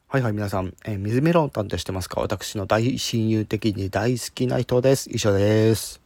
はいはい、皆さん、水メロン担当してますか？私の大親友的に大好きな人です。以上です。